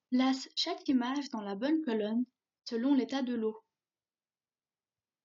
Place chaque image dans la bonne colonne selon l'état de l'eau.